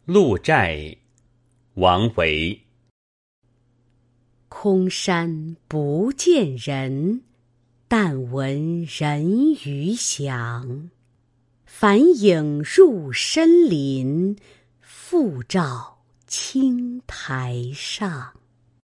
鹿柴，王维。 空山不见人，但闻人语响。返影入深林，复照青苔上。